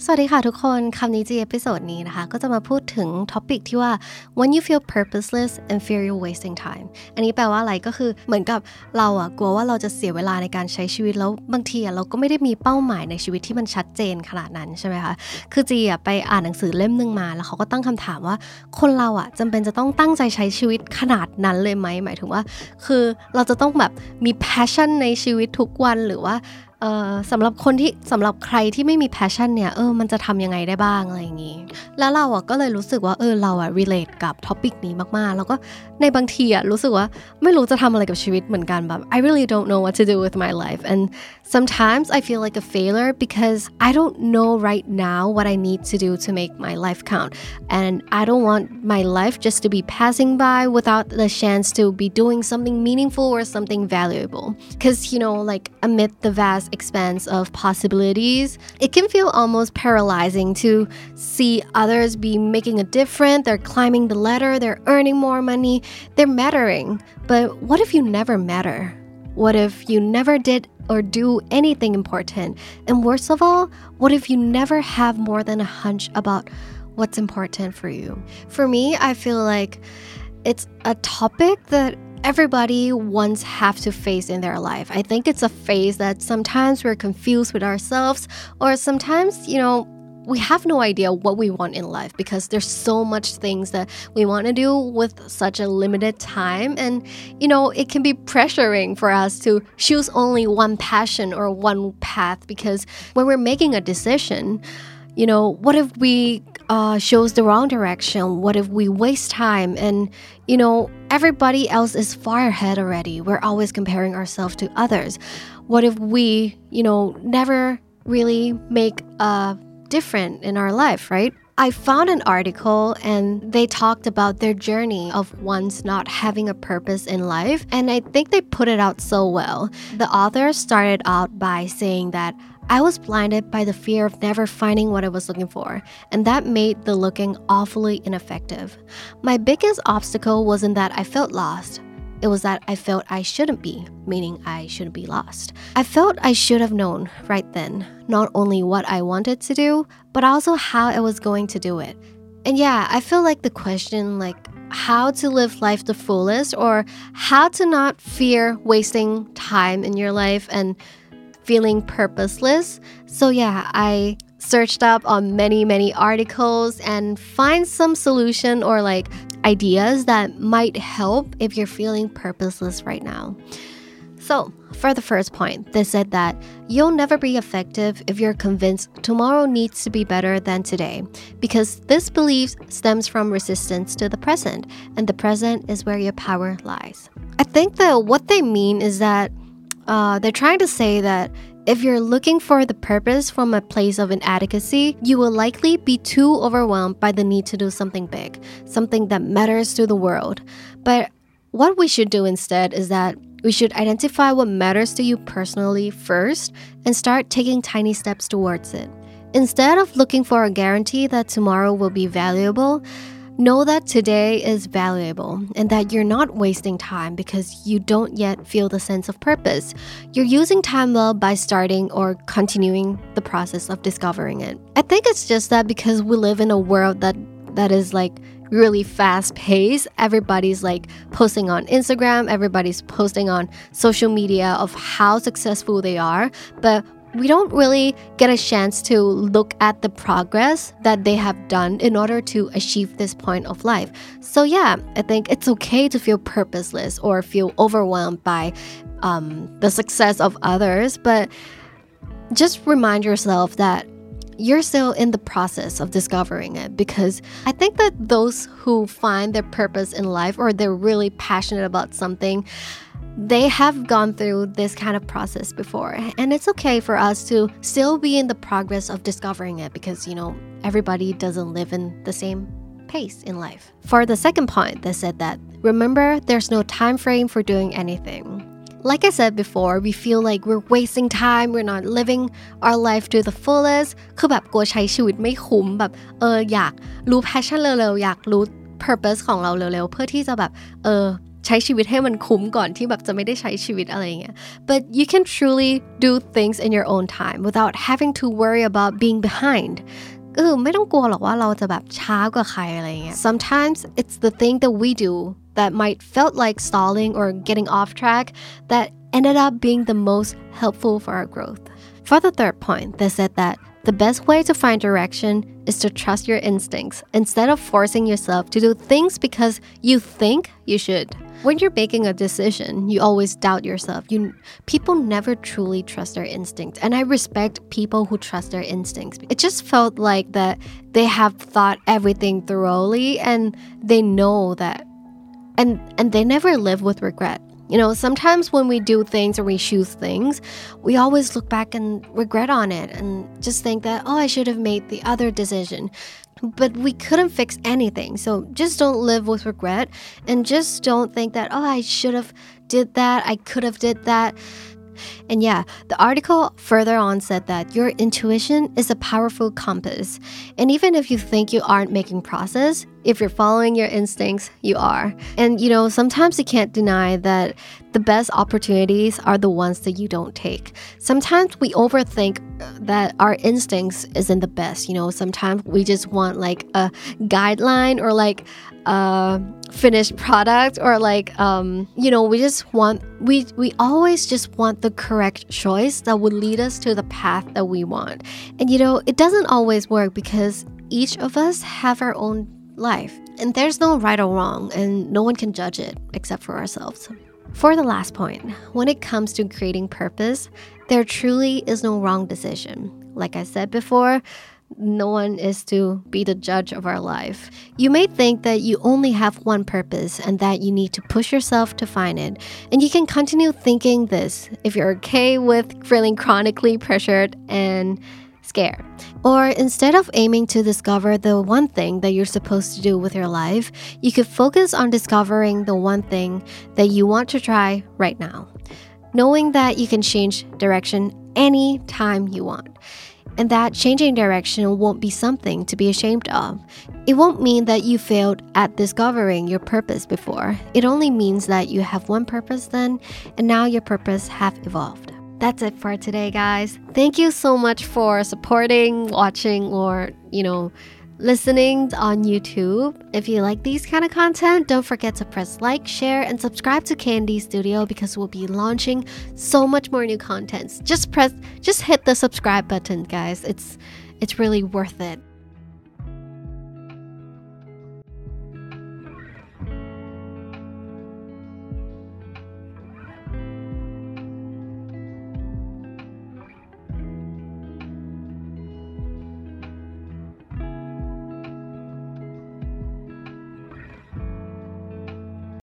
สวัสดีค่ะทุกคนคำนี้จีเอพิโซดนี้นะคะก็จะมาพูดถึงท็อปิกที่ว่า when you feel purposeless and fear you're wasting time อันนี้แปลว่าอะไรก็คือเหมือนกับเรากลัวว่าเราจะเสียเวลาในการใช้ชีวิตแล้วบางทีเราก็ไม่ได้มีเป้าหมายในชีวิตที่มันชัดเจนขนาดนั้นใช่ไหมคะคือจีไปอ่านหนังสือเล่มนึงมาแล้วเขาก็ตั้งคำถามว่าคนเราจำเป็นจะต้องตั้งใจใช้ชีวิตขนาดนั้นเลยไหมหมายถึงว่าคือเราจะต้องแบบมี passion ในชีวิตทุกวันหรือว่าสำหรับใครที่ไม่มี passion เนี่ยมันจะทำยังไงได้บ้างอะไรอย่างงี้แล้วเราก็เลยรู้สึกว่าเราrelate กับ topic นี้มากๆแล้วก็ในบางทีรู้สึกว่าไม่รู้จะทำอะไรกับชีวิตเหมือนกันแบบ I really don't know what to do with my life and sometimes I feel like a failure because I don't know right now what I need to do to make my life count and I don't want my life just to be passing by without the chance to be doing something meaningful or something valuable because like amid the vast expanse of possibilities it can feel almost paralyzing to see others be making a difference they're climbing the ladder they're earning more money they're mattering but what if you never matter what if you never did or do anything important and worst of all what if you never have more than a hunch about what's important for you for me I feel like it's a topic that everybody once have to face in their life. I think it's a phase that sometimes we're confused with ourselves or sometimes, we have no idea what we want in life because there's so much things that we want to do with such a limited time and, it can be pressuring for us to choose only one passion or one path because when we're making a decision, what if we chose the wrong direction? What if we waste time? And, everybody else is far ahead already. We're always comparing ourselves to others. What if we, never really make a difference in our life, right? I found an article and they talked about their journey of once not having a purpose in life. And I think they put it out so well. The author started out by saying that I was blinded by the fear of never finding what I was looking for, and that made the looking awfully ineffective. My biggest obstacle wasn't that I felt lost. It was that I felt I shouldn't be, meaning I shouldn't be lost. I felt I should have known right then, not only what I wanted to do, but also how I was going to do it. And yeah, I feel like the question how to live life the fullest or how to not fear wasting time in your life and feeling purposeless. So yeah, I searched up on many articles and find some solution or ideas that might help if you're feeling purposeless right now. So for the first point, they said that you'll never be effective if you're convinced tomorrow needs to be better than today, because this belief stems from resistance to the present, and the present is where your power lies. I think that what they mean is that they're trying to say that if you're looking for the purpose from a place of inadequacy, you will likely be too overwhelmed by the need to do something big, something that matters to the world. But what we should do instead is that we should identify what matters to you personally first and start taking tiny steps towards it. Instead of looking for a guarantee that tomorrow will be valuable, know that today is valuable and that you're not wasting time because you don't yet feel the sense of purpose. You're using time well by starting or continuing the process of discovering it. I think it's just that because we live in a world that is really fast-paced. Everybody's posting on Instagram, everybody's posting on social media of how successful they are, but we don't really get a chance to look at the progress that they have done in order to achieve this point of life. So yeah, I think it's okay to feel purposeless or feel overwhelmed by the success of others, but just remind yourself that you're still in the process of discovering it, because I think that those who find their purpose in life or they're really passionate about something, they have gone through this kind of process before, and it's okay for us to still be in the progress of discovering it because, everybody doesn't live in the same pace in life. For the second point, they said that, remember, there's no time frame for doing anything. Like I said before, we feel like we're wasting time, we're not living our life to the fullest คือแบบกลัวใช้ชีวิตไม่คุ้มแบบอยากรู้ passion เร็วๆอยากรู้ purpose ของเราเร็วๆเพื่อที่จะแบบใช้ชีวิตให้มันคุ้มก่อนที่แบบจะไม่ได้ใช้ชีวิตอะไรเงี้ย but you can truly do things in your own time without having to worry about being behind ไม่ต้องกลัวหรอกว่าเราจะแบบช้ากว่าใครอะไรเงี้ย sometimes it's the thing that we do that might felt like stalling or getting off track that ended up being the most helpful for our growth. For the third point, they said that the best way to find direction is to trust your instincts instead of forcing yourself to do things because you think you should. When you're making a decision, you always doubt yourself. People never truly trust their instincts, and I respect people who trust their instincts. It just felt like that they have thought everything thoroughly and they know that and they never live with regret. You know, sometimes when we do things or we choose things, we always look back and regret on it and just think that, oh, I should have made the other decision. But we couldn't fix anything. So just don't live with regret and just don't think that, oh, I should have did that. I could have did that. And yeah, the article further on said that your intuition is a powerful compass. And even if you think you aren't making progress, if you're following your instincts, you are. And you know, sometimes you can't deny that the best opportunities are the ones that you don't take. Sometimes we overthink that our instincts isn't the best. You know, sometimes we just want like a guideline or like a finished product or like you know, we always just want the correct choice that would lead us to the path that we want. And you know, it doesn't always work because each of us have our own life and there's no right or wrong and no one can judge it except for ourselves. For the last point, when it comes to creating purpose, there truly is no wrong decision. Like I said before, no one is to be the judge of our life. You may think that you only have one purpose and that you need to push yourself to find it. And you can continue thinking this if you're okay with feeling chronically pressured and scared. Or instead of aiming to discover the one thing that you're supposed to do with your life, you could focus on discovering the one thing that you want to try right now, knowing that you can change direction anytime you want. And that changing direction won't be something to be ashamed of. It won't mean that you failed at discovering your purpose before. It only means that you have one purpose then, and now your purpose have evolved. That's it for today, guys. Thank you so much for supporting, watching, or, you know, listening on YouTube. If you like these kind of content, don't forget to press like, share, and subscribe to Candy Studio because we'll be launching so much more new content. Just hit the subscribe button, guys. It's really worth it.